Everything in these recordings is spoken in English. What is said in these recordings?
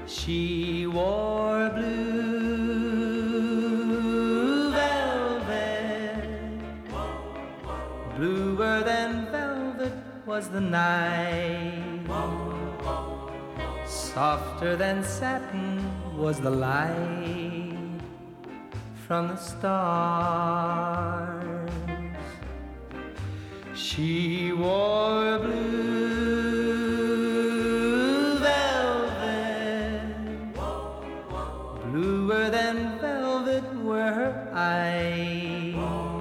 She wore blue velvet, bluer than velvet was the night, softer than satin was the light from the stars. She wore blue velvet, bluer than velvet were her eyes,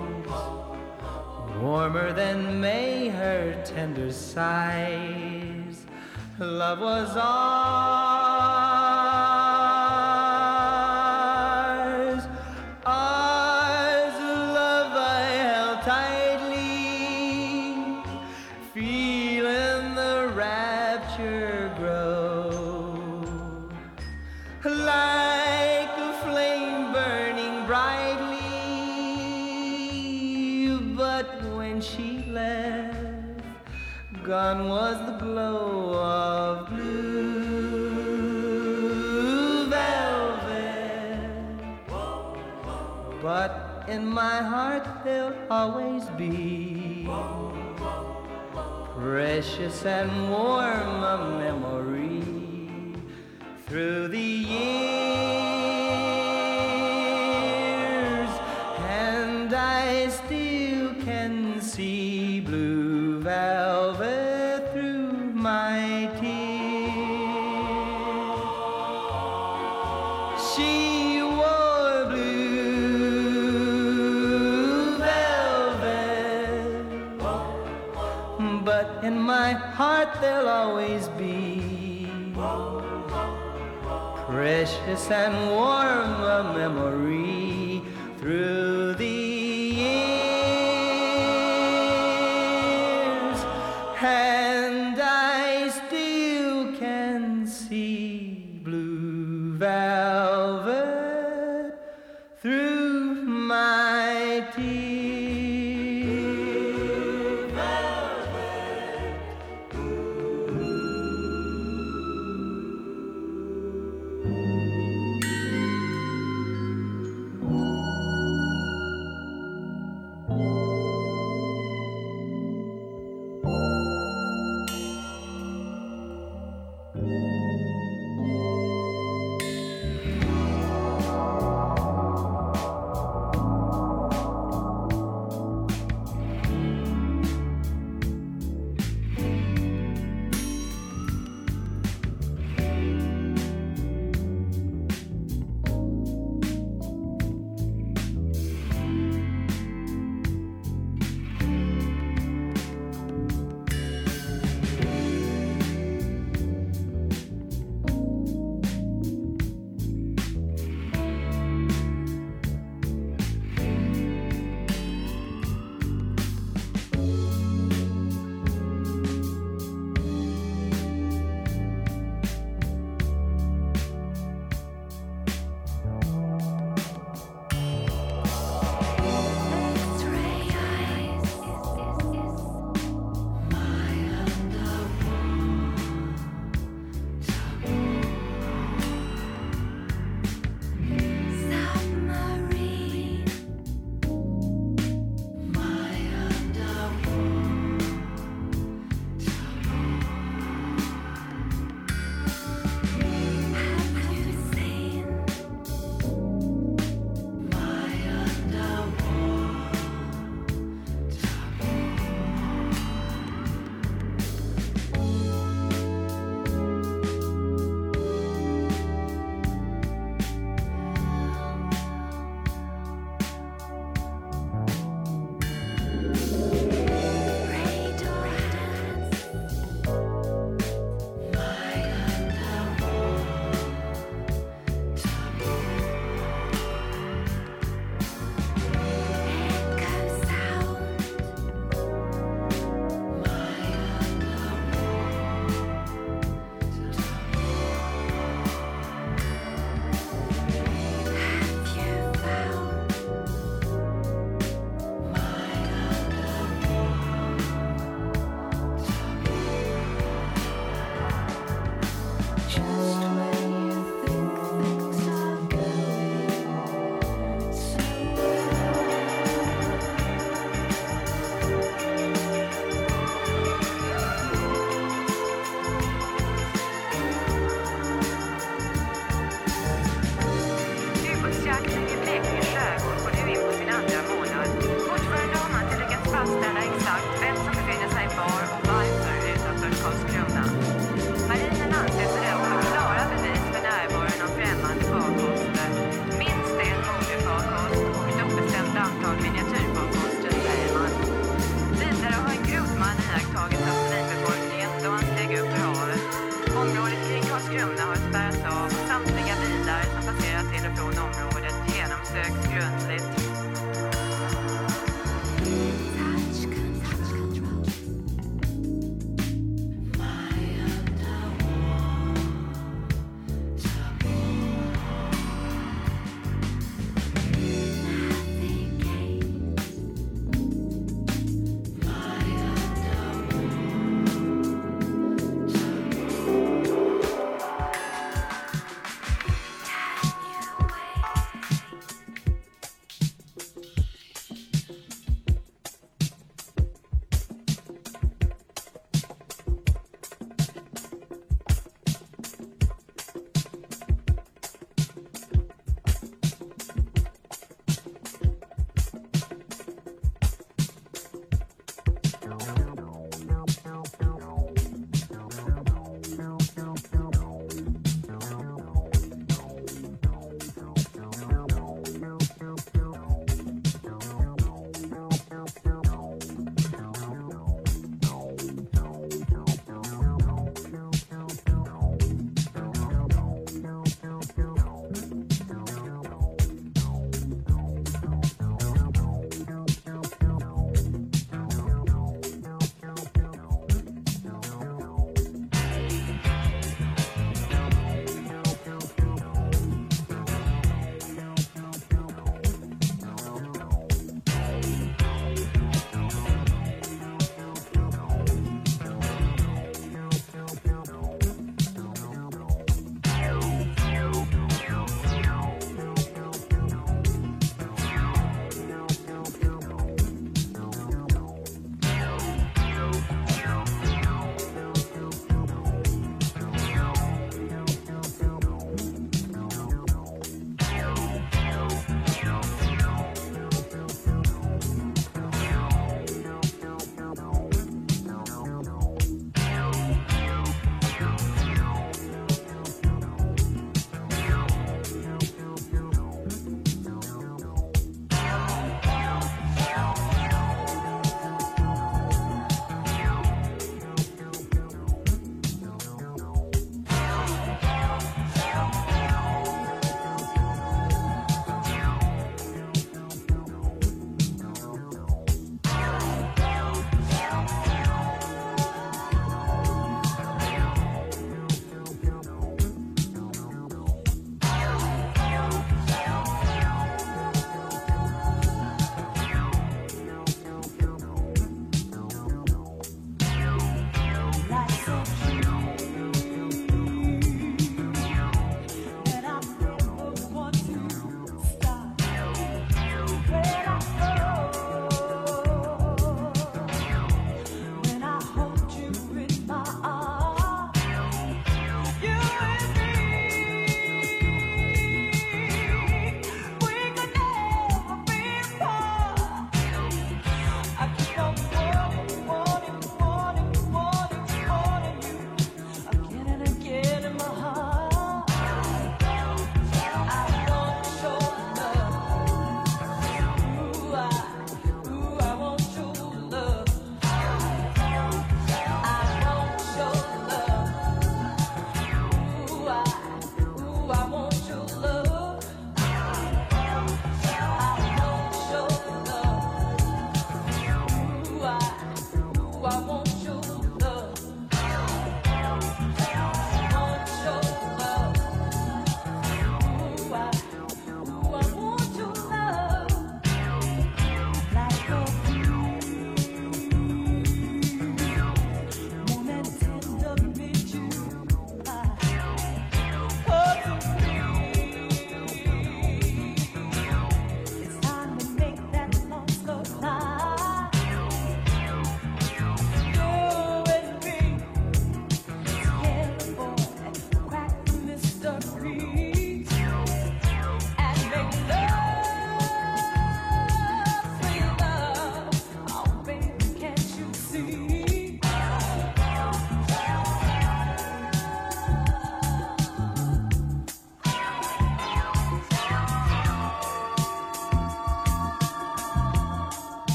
warmer than May her tender sighs. Love was ours, ours, love I held tightly, feeling the rapture grow, like a flame burning brightly. But when she left, gone was the glow of blue velvet. But in my heart there'll always be precious and warm a memory through the years, and I still can see blue velvet through my tears. She wore blue velvet, but in my heart there'll always be precious and warm a memory through the years, and I still can see blue velvet through my tears.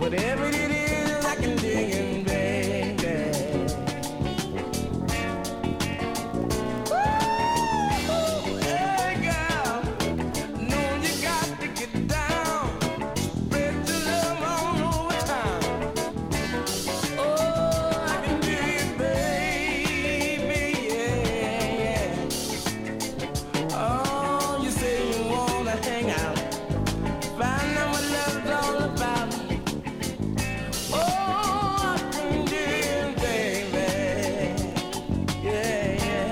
Whatever it is, I can dig it, baby. Ooh, hey girl, know you got to get down, spread your love all over town. Oh, I can dig it, baby, yeah, yeah. Oh, you say you wanna hang out, find out what love's all about. Oh, I can dig it, baby, yeah, yeah.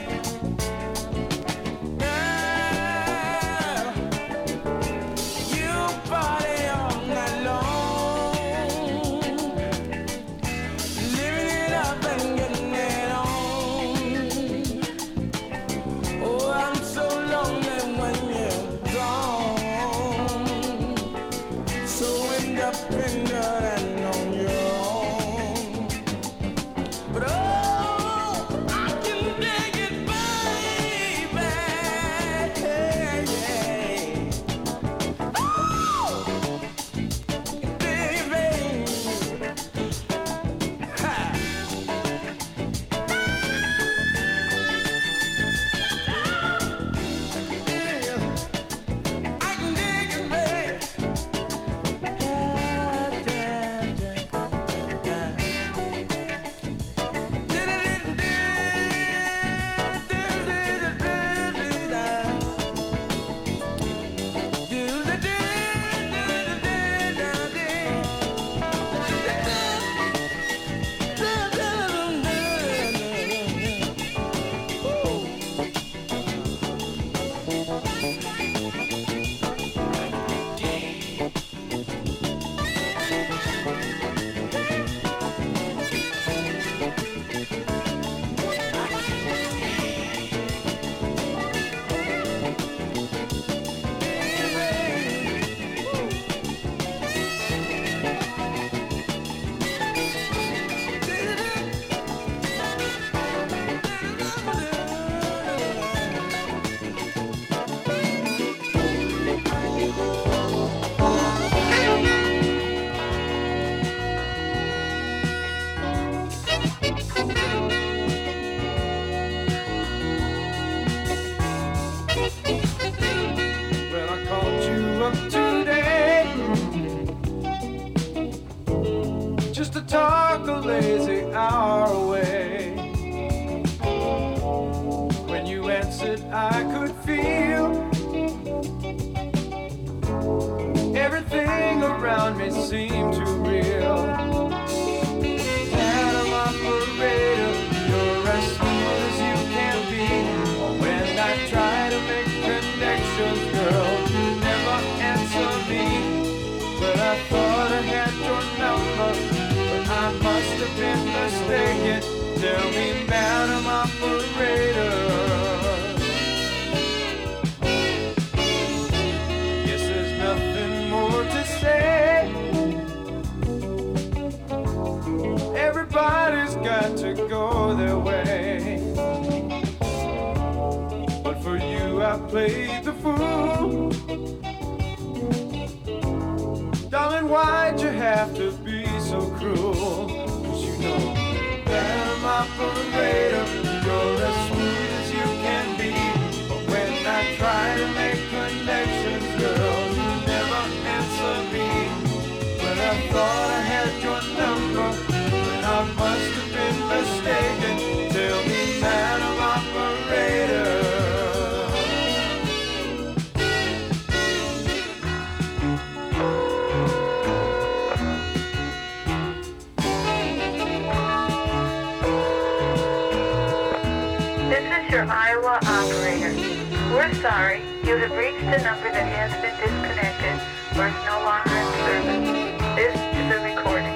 Girl, you party all night long, living it up and getting it on. Oh, I'm so lonely when you're gone, so independent and on your own. But oh, I can dig it, baby, yeah. Oh, baby, ha. I can dig it, baby. Well, I called you up today just to talk a lazy hour away. When you answered, I could feel everything around me seemed too real. Madam operator, you're as smooth as you can be. When I try to make connections, girl, you never answer me. But I thought I had your number, but I must have been mistaken. Tell me, Madam Operator. Guess there's nothing more to say. Everybody's got to go their way. But for you, I played the fool. Darling, why'd you have to be so cruel? 'Cause you know, Madam Operator, you're as smooth as you can be. But when I try to make connections, girl, you never answer me. But I thought I had your number, but I must have been mistaken. Tell me, Madam Operator. This is your Iowa operator. We're sorry. You have reached a number that has been disconnected or is no longer in service. This is a recording.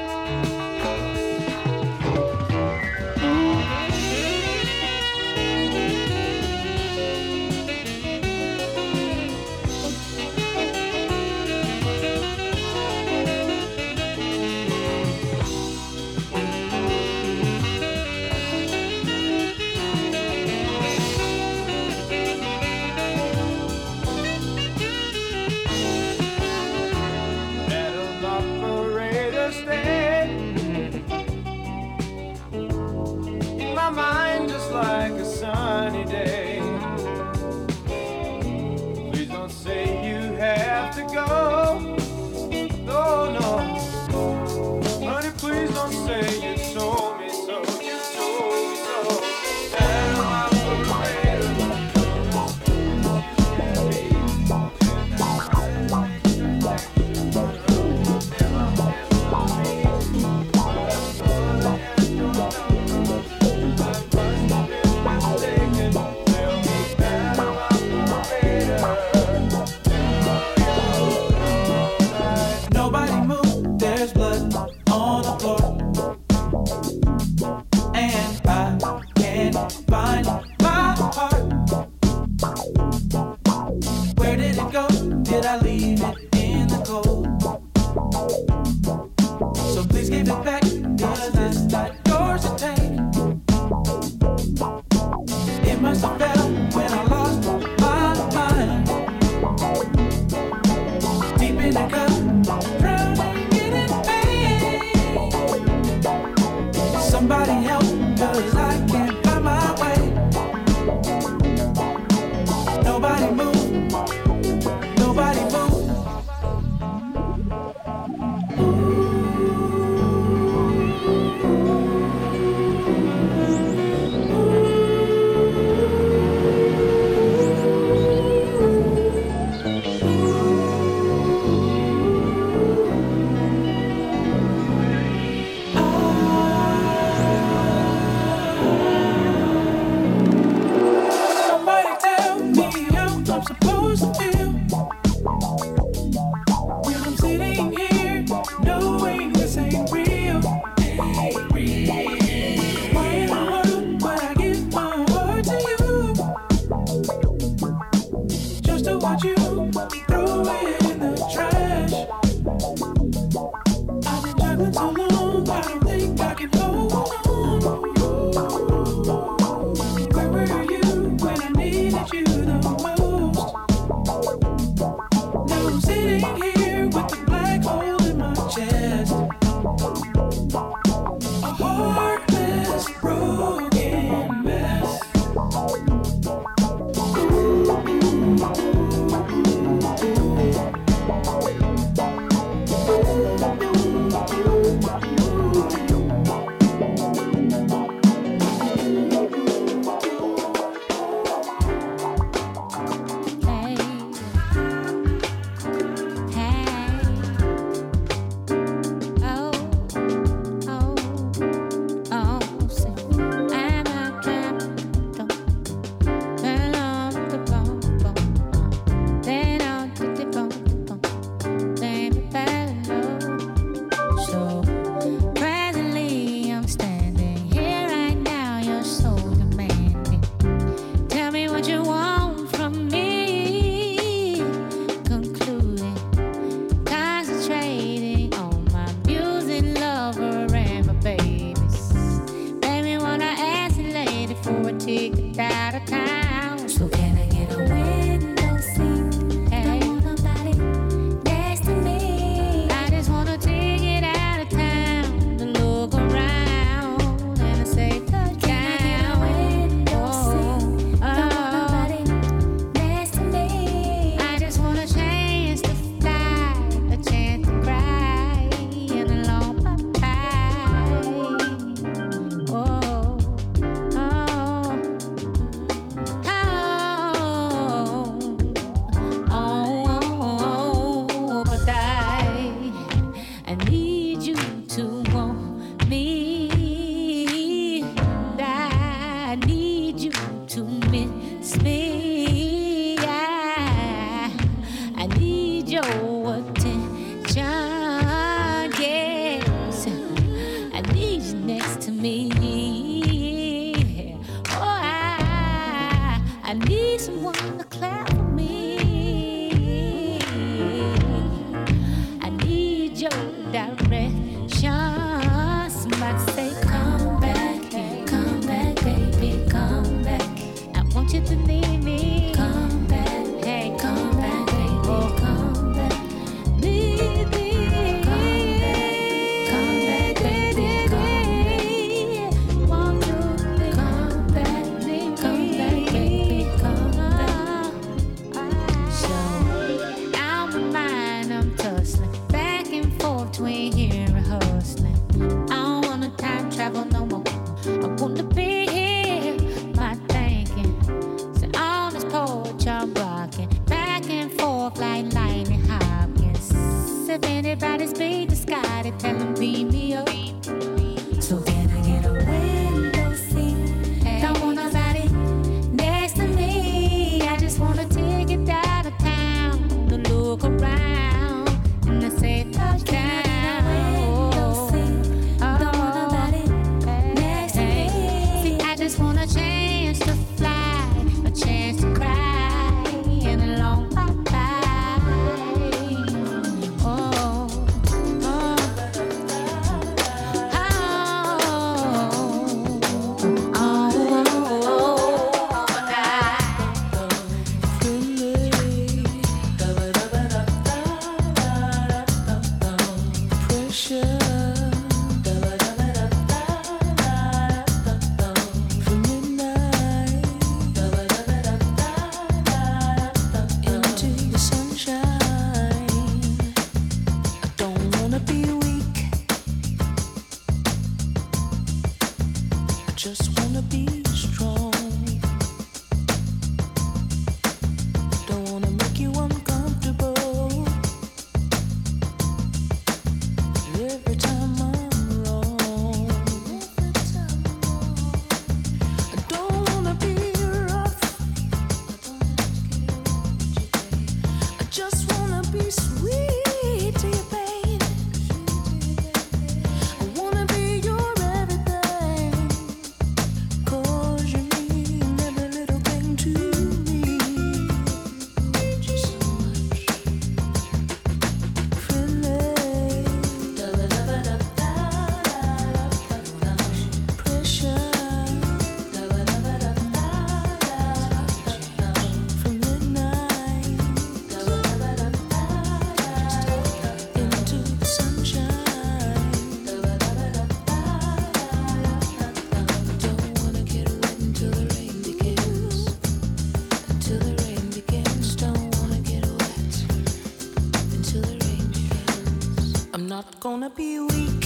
gonna be weak.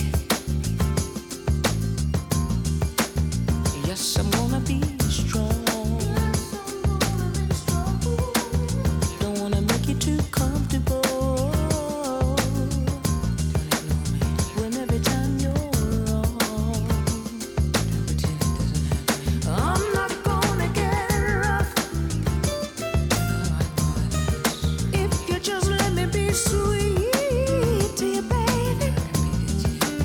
Yes, I'm gonna be strong. Don't wanna make you too comfortable. When every time you're wrong, I'm not gonna get rough. If you just let me be sweet to you, baby.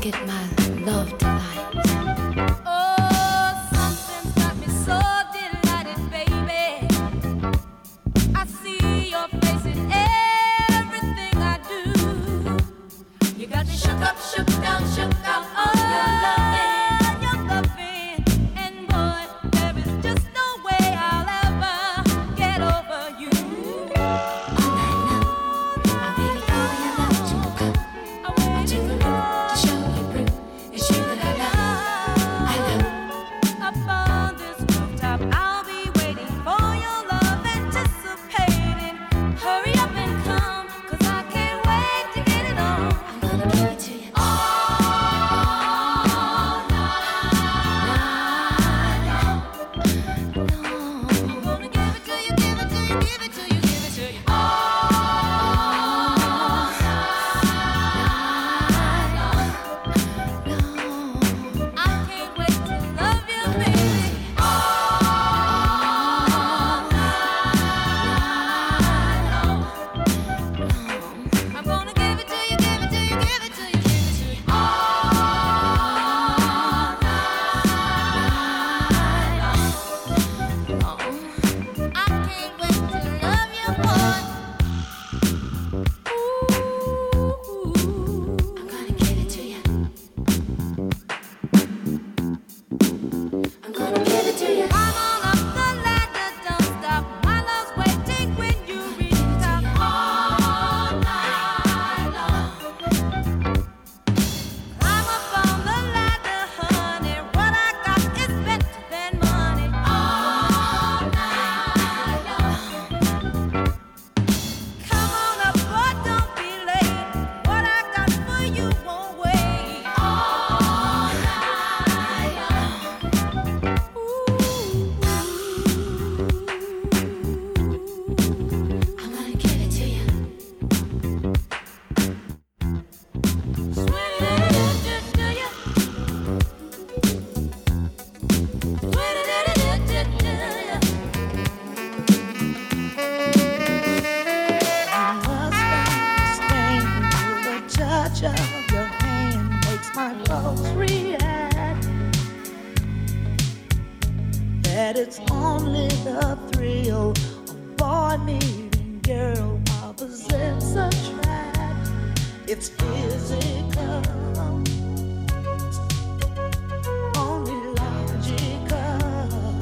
get my love delight. Oh, something's got me so delighted, baby. I see your face in everything I do. You got me shook up, shook down, shook out on your loving, and boy, there is just no way I'll ever get over you. All night long, I waited for your love to come. To the room to show you proof it's you that I love. Upon this rooftop, I'll be waiting for your love, anticipating. Hurry up and come, 'cause I can't wait to get it on. I'm gonna give it to you. I'm gonna give it to you, give it to you, give it to you, give it to you. I can't wait to love you, baby. I'm gonna give it to you, give it to you, give it to you, give it to you. I can't wait to love you, boy. I'm gonna give it to you. I'm gonna give it to you. I'm on up the ladder, don't stop. My love's waiting when you reach the top. All night long. I'm up on the ladder, honey. What I got is better than money. All night long. Come on up, boy, don't be late. What I got for you won't wait. All night long. I'm gonna give it to you. Must understand the touch of your hand makes my pulse react. That it's only the thrill of boy meeting girl opposites attract. It's physical, only logical.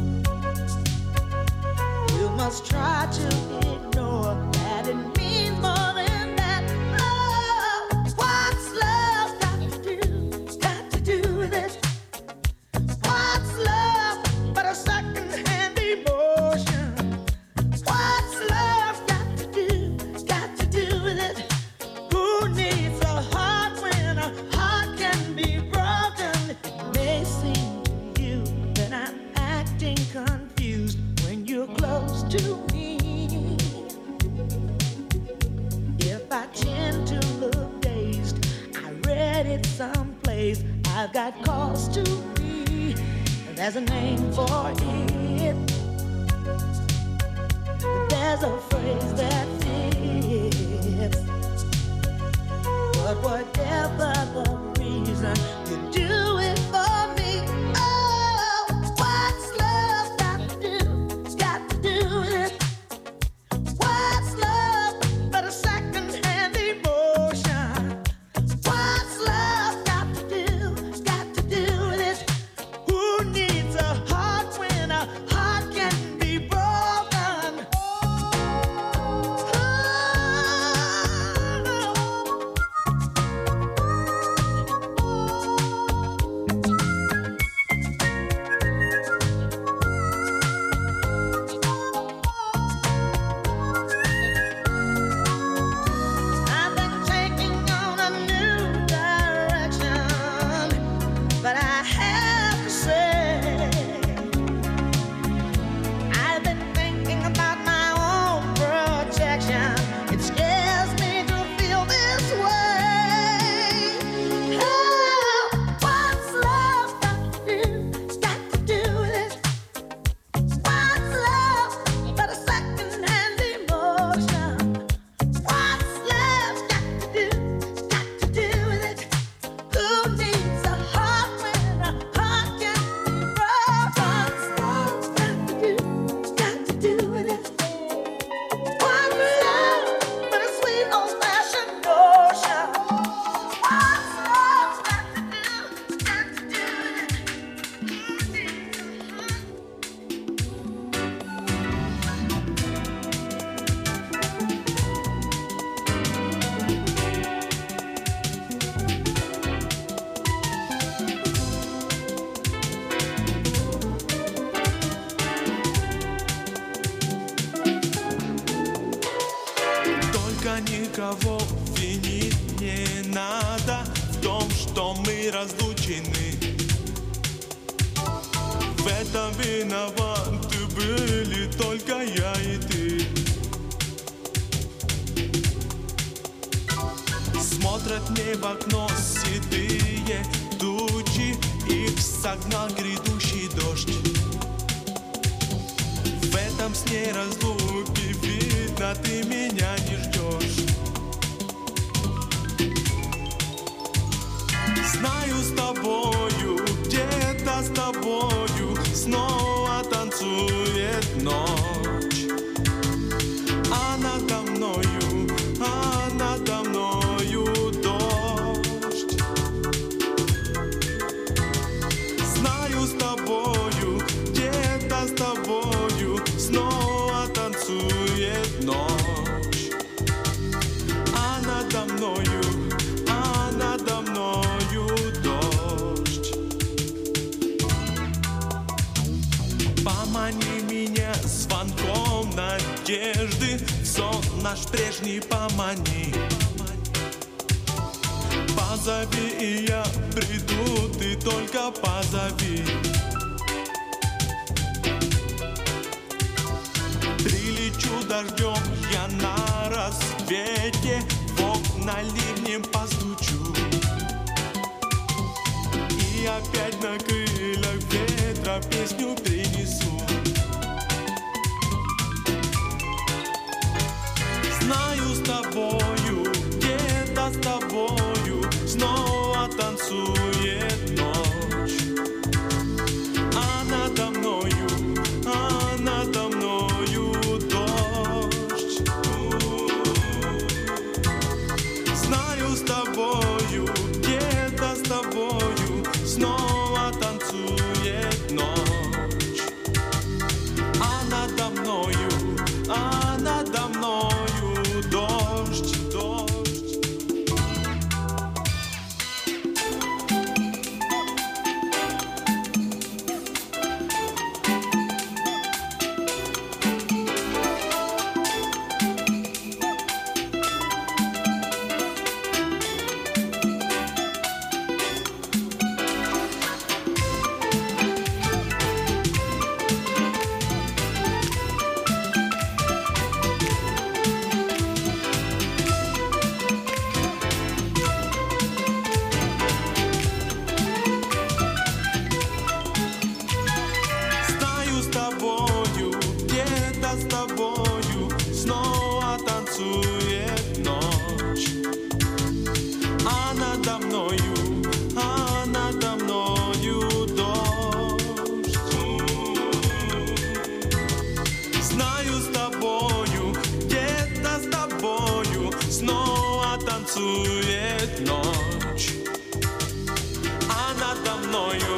You must try to ignore that it means more than that. Oh, what's love got to do? Got to do with it. What's love but a second-hand emotion? What's love got to do? Got to do with it. Who needs a heart when a heart can be broken? It may seem to you that I'm acting confused when you're close to me. If I tend to look dazed, I read it someplace. I've got cause to be. There's a name for it. There's a phrase that fits. But whatever the reason, you do it for me. Oh, what's love got to do? It's got to do with it. What's love but a second-hand emotion? What's love got to do? It's got to do with it. Who needs a heart when a heart can be broken? Oh, но мы разлучены. В этом виноваты были только я и ты. Смотрят мне в окно седые тучи, их согнал грядущий дождь. В этом сне разлуки видно, ты меня не ждешь. Знаю, с тобою, где-то с тобою снова танцует ночь. А надо мною дождь. Знаю, с тобою, где-то с тобою снова танцует ночь. А надо мною дождь. Помани меня звонком надежды, в сон наш прежний помани. Позови, и я приду, ты только позови. Прилечу дождем я на рассвете, в окна ливнем постучу. И опять на крыльях ветра песню принесу. Знаю, с тобою, где-то с тобою снова танцует ночь. А надо мною дождь. Знаю, с тобою, где-то с тобою снова танцует ночь. А надо мною дождь. С тобою снова танцует ночь. А надо мною дождь. Знаю, с тобою, где-то с тобою снова танцует ночь. А надо мною